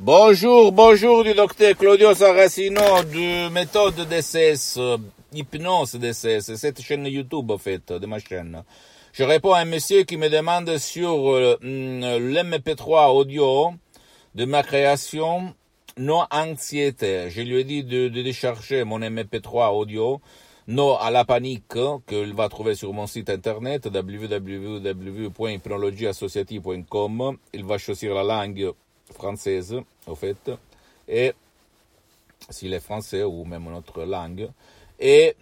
Bonjour, bonjour du docteur Claudio Saracino de méthode DCS, hypnose DCS, cette chaîne YouTube en fait, de ma chaîne. Je réponds à un monsieur qui me demande sur l'MP3 audio de ma création Non Anxiété. Je lui ai dit de décharger mon MP3 audio Non à la panique qu'il va trouver sur mon site internet www.hypnologieassociative.com. Il va choisir la langue française, au fait, et s'il est français ou même une autre langue, et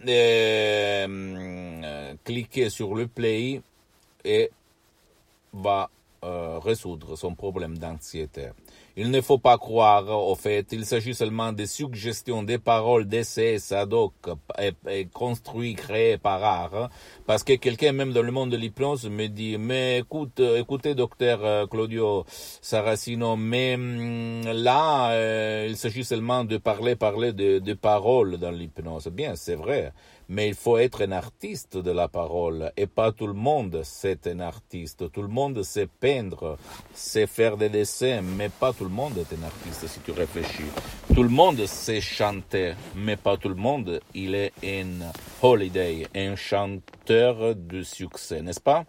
cliquer sur le play et va résoudre son problème d'anxiété. Il ne faut pas croire, au fait, il s'agit seulement de suggestions, des paroles d'essais ad hoc et construits, créés par art, parce que quelqu'un, même dans le monde de l'hypnose, me dit, mais écoutez, docteur Claudio Saracino, mais là, il s'agit seulement de parler de paroles dans l'hypnose. Bien, c'est vrai, mais il faut être un artiste de la parole, et pas tout le monde c'est un artiste. Tout le monde sait peindre, sait faire des dessins, mais pas tout le monde est un artiste si tu réfléchis. Tout le monde sait chanter, mais pas tout le monde il est un holiday, un chanteur de succès, n'est-ce pas?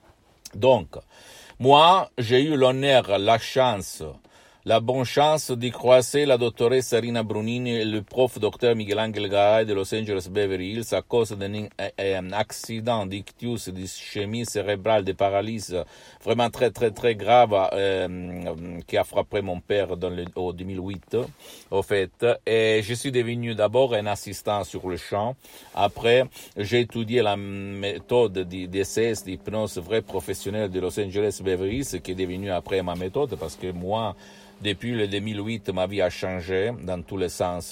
Donc, moi, j'ai eu l'honneur, la chance, la bonne chance d'y croiser la dottoressa Rina Brunini et le prof docteur Miguel Angel Garay de Los Angeles Beverly Hills à cause d'un accident d'ictus, d'ischémie cérébrale, de paralysie vraiment très très très grave qui a frappé mon père au 2008 au fait. Et je suis devenu d'abord un assistant sur le champ. Après, j'ai étudié la méthode d'essai d'hypnose vrai professionnelle de Los Angeles Beverly Hills qui est devenue après ma méthode parce que moi, depuis le 2008, ma vie a changé dans tous les sens.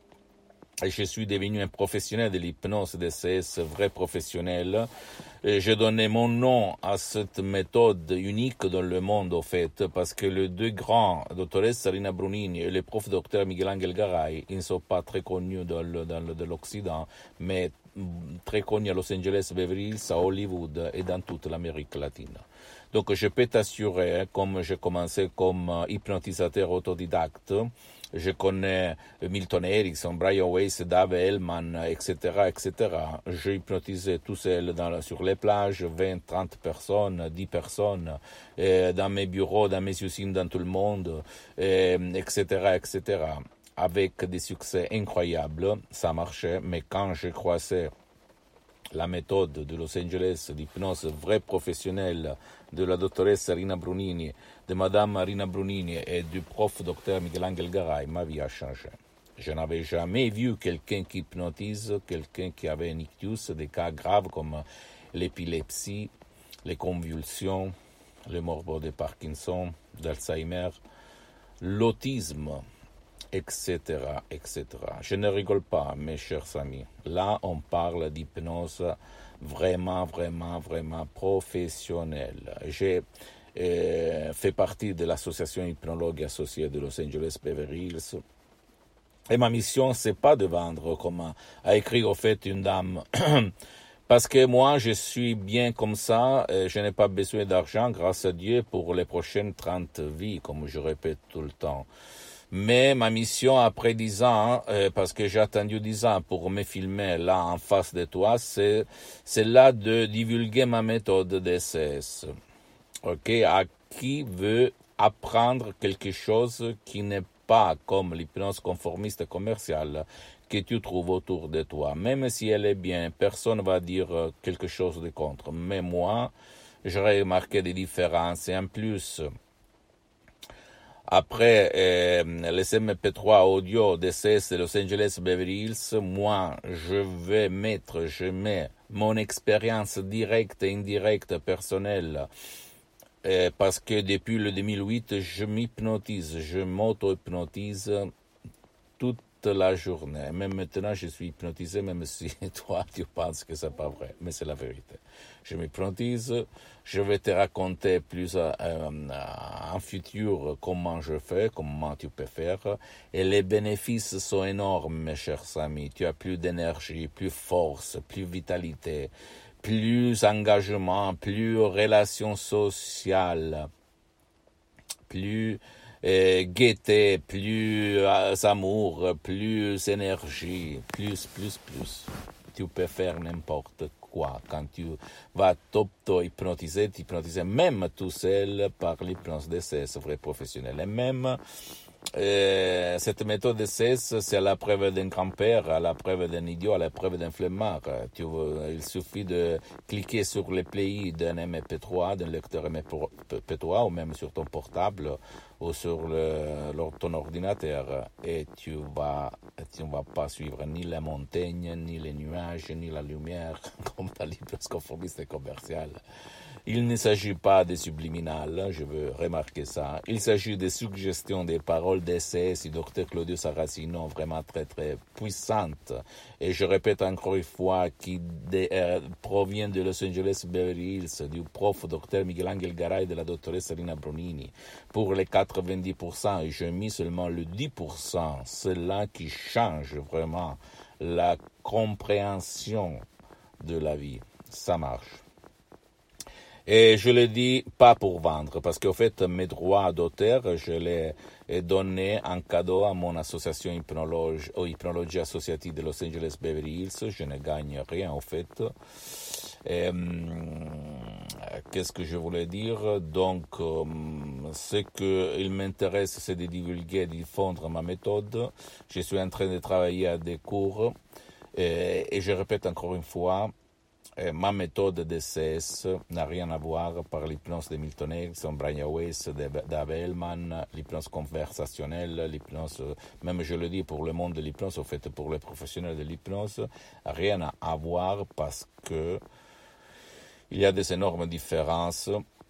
Et je suis devenu un professionnel de l'hypnose DCS, vrai professionnel. Et j'ai donné mon nom à cette méthode unique dans le monde, au fait, parce que les deux grands, dottoressa Rina Brunini et le prof docteur Miguel Angel Garay, ils ne sont pas très connus dans l'Occident, mais très connus à Los Angeles, Beverly Hills, à Hollywood et dans toute l'Amérique latine. Donc je peux t'assurer, comme j'ai commencé comme hypnotisateur autodidacte, je connais Milton Erickson, Brian Weiss, Dave Hellman, etc., etc. J'ai hypnotisé tout seul sur les plages, 20, 30 personnes, 10 personnes, dans mes bureaux, dans mes usines, dans tout le monde, etc., etc. Avec des succès incroyables, ça marchait, mais quand j'ai croisé la méthode de Los Angeles d'hypnose vraie professionnelle de la dottoressa Rina Brunini, de madame Rina Brunini et du prof docteur Miguel Angel Garay, ma vie a changé. Je n'avais jamais vu quelqu'un qui hypnotise, quelqu'un qui avait un ictus, des cas graves comme l'épilepsie, les convulsions, le morbide de Parkinson, d'Alzheimer, l'autisme, etc., etc. Je ne rigole pas, mes chers amis. Là, on parle d'hypnose vraiment, vraiment, vraiment professionnelle. J'ai fait partie de l'association hypnologue associée de Los Angeles Beverly Hills. Et ma mission, c'est pas de vendre, comme a écrit au fait une dame. Parce que moi, je suis bien comme ça, je n'ai pas besoin d'argent, grâce à Dieu, pour les prochaines 30 vies, comme je répète tout le temps. Mais ma mission après 10 ans, parce que j'ai attendu 10 ans pour me filmer là en face de toi, c'est là de divulguer ma méthode DCS. Ok, à qui veut apprendre quelque chose qui n'est pas comme l'hypnose conformiste commerciale que tu trouves autour de toi. Même si elle est bien, personne va dire quelque chose de contre. Mais moi, j'aurais remarqué des différences. Et en plus, après les MP3 audio DCS de Los Angeles Beverly Hills, moi, je mets mon expérience directe et indirecte personnelle parce que depuis le 2008, je m'hypnotise, je m'auto-hypnotise toute la journée. Même maintenant, je suis hypnotisé, même si toi, tu penses que c'est pas vrai, mais c'est la vérité. Je m'hypnotise, je vais te raconter plus en futur comment je fais, comment tu peux faire, et les bénéfices sont énormes, mes chers amis. Tu as plus d'énergie, plus force, plus vitalité, plus engagement, plus relations sociales, plus gaieté, plus amour, plus énergie, plus. Tu peux faire n'importe quoi. Quand tu vas t'auto-hypnotiser, même tout seul par l'hypnose DCS vrai professionnel. Et même cette méthode DCS, c'est à la preuve d'un grand-père, à la preuve d'un idiot, à la preuve d'un flemmard. Il suffit de cliquer sur le play d'un MP3, d'un lecteur MP3, ou même sur ton portable, ou sur ton ordinateur, et tu ne vas pas suivre ni la montagne, ni les nuages, ni la lumière, comme dans l'hypnose conformiste commerciale. Il ne s'agit pas de subliminal, je veux remarquer ça. Il s'agit de suggestions des paroles d'essai du docteur Claudio Saracino, vraiment très très puissantes. Et je répète encore une fois, qui provient de Los Angeles Beverly Hills, du prof docteur Miguel Angel Garay et de la doctoresse Rina Bronini. Pour les 90%, et j'ai mis seulement le 10%, c'est là qui change vraiment la compréhension de la vie. Ça marche. Et je le dis pas pour vendre, parce qu'en fait, mes droits d'auteur, je les donnés en cadeau à mon association hypnologie associative de Los Angeles Beverly Hills. Je ne gagne rien, en fait. Qu'est-ce que je voulais dire? Donc, ce qu'il m'intéresse, c'est de divulguer et de diffondre ma méthode. Je suis en train de travailler à des cours. Et je répète encore une fois, ma méthode DCS n'a rien à voir par l'hypnose de Milton Erickson, Brian Weiss, Dave Hellman, l'hypnose conversationnelle, l'hypnose, même je le dis pour le monde de l'hypnose, en fait pour les professionnels de l'hypnose, rien à voir parce que il y a des énormes différences,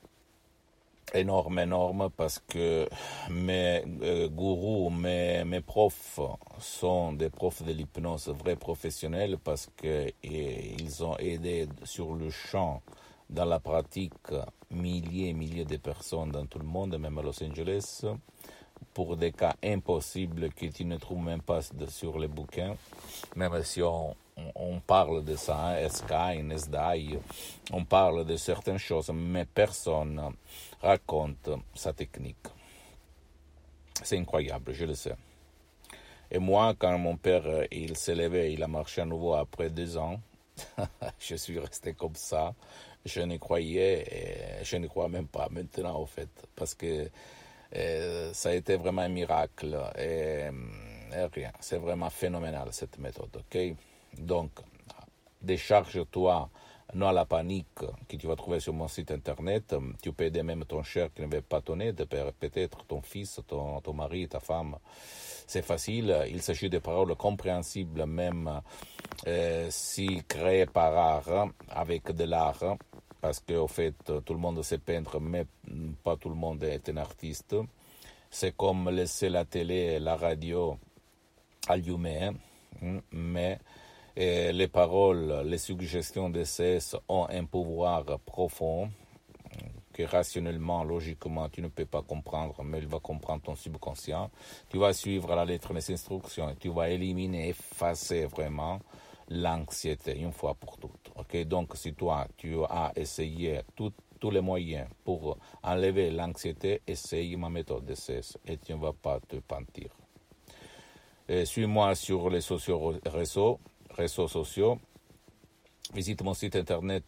énorme parce que mes gourous, mes profs sont des profs de l'hypnose vrais professionnels parce qu'ils ont aidé sur le champ, dans la pratique, milliers et milliers de personnes dans tout le monde, même à Los Angeles, pour des cas impossibles que tu ne trouves même pas sur les bouquins, même si on parle de ça, Erskine, SDI, on parle de certaines choses, mais personne raconte sa technique. C'est incroyable, je le sais. Et moi, quand mon père, il s'est levé, il a marché à nouveau après 2 ans, je suis resté comme ça. Je ne crois même pas maintenant, au fait, parce que ça a été vraiment un miracle. Et rien, c'est vraiment phénoménal, cette méthode, ok? Donc, décharge-toi, non à la panique que tu vas trouver sur mon site internet. Tu peux aider même ton cher qui ne veut pas ton aide, peut-être ton fils, ton mari, ta femme. C'est facile, il s'agit de paroles compréhensibles, même si créées par art, avec de l'art, parce qu'au fait, tout le monde sait peindre, mais pas tout le monde est un artiste. C'est comme laisser la télé et la radio allumées, mais les paroles, les suggestions DCS ont un pouvoir profond que rationnellement, logiquement, tu ne peux pas comprendre, mais il va comprendre ton subconscient. Tu vas suivre à la lettre les instructions et tu vas éliminer, effacer vraiment l'anxiété une fois pour toutes. Okay? Donc, si toi, tu as essayé tous les moyens pour enlever l'anxiété, essaye ma méthode DCS et tu ne vas pas te pentir. Suis-moi sur les réseaux sociaux. Visite mon site internet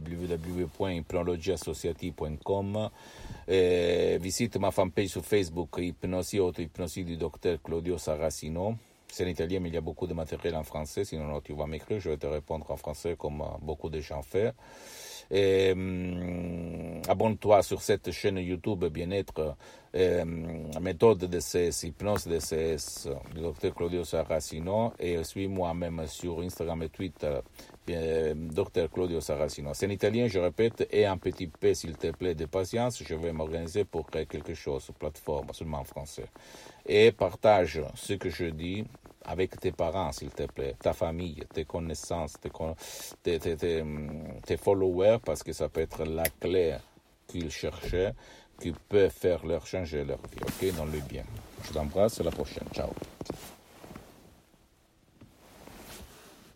www.hypnologieassociative.com. Visite ma fanpage sur Facebook, Hypnosie Auto-Hypnosie du docteur Claudio Saracino. C'est en italien, mais il y a beaucoup de matériel en français. Sinon, tu vas m'écrire, je vais te répondre en français comme beaucoup de gens font. Abonne-toi sur cette chaîne YouTube Bien-être, méthode DCS, hypnose DCS du docteur Claudio Saracino, et suis-moi même sur Instagram et Twitter, docteur Claudio Saracino. C'est en italien, je répète, et un petit peu, s'il te plaît, de patience, je vais m'organiser pour créer quelque chose sur plateforme, seulement en français. Et partage ce que je dis avec tes parents, s'il te plaît, ta famille, tes connaissances, tes followers, parce que ça peut être la clé qu'ils cherchaient, qui peut faire leur changer leur vie, ok, dans le bien. Je t'embrasse, à la prochaine, ciao.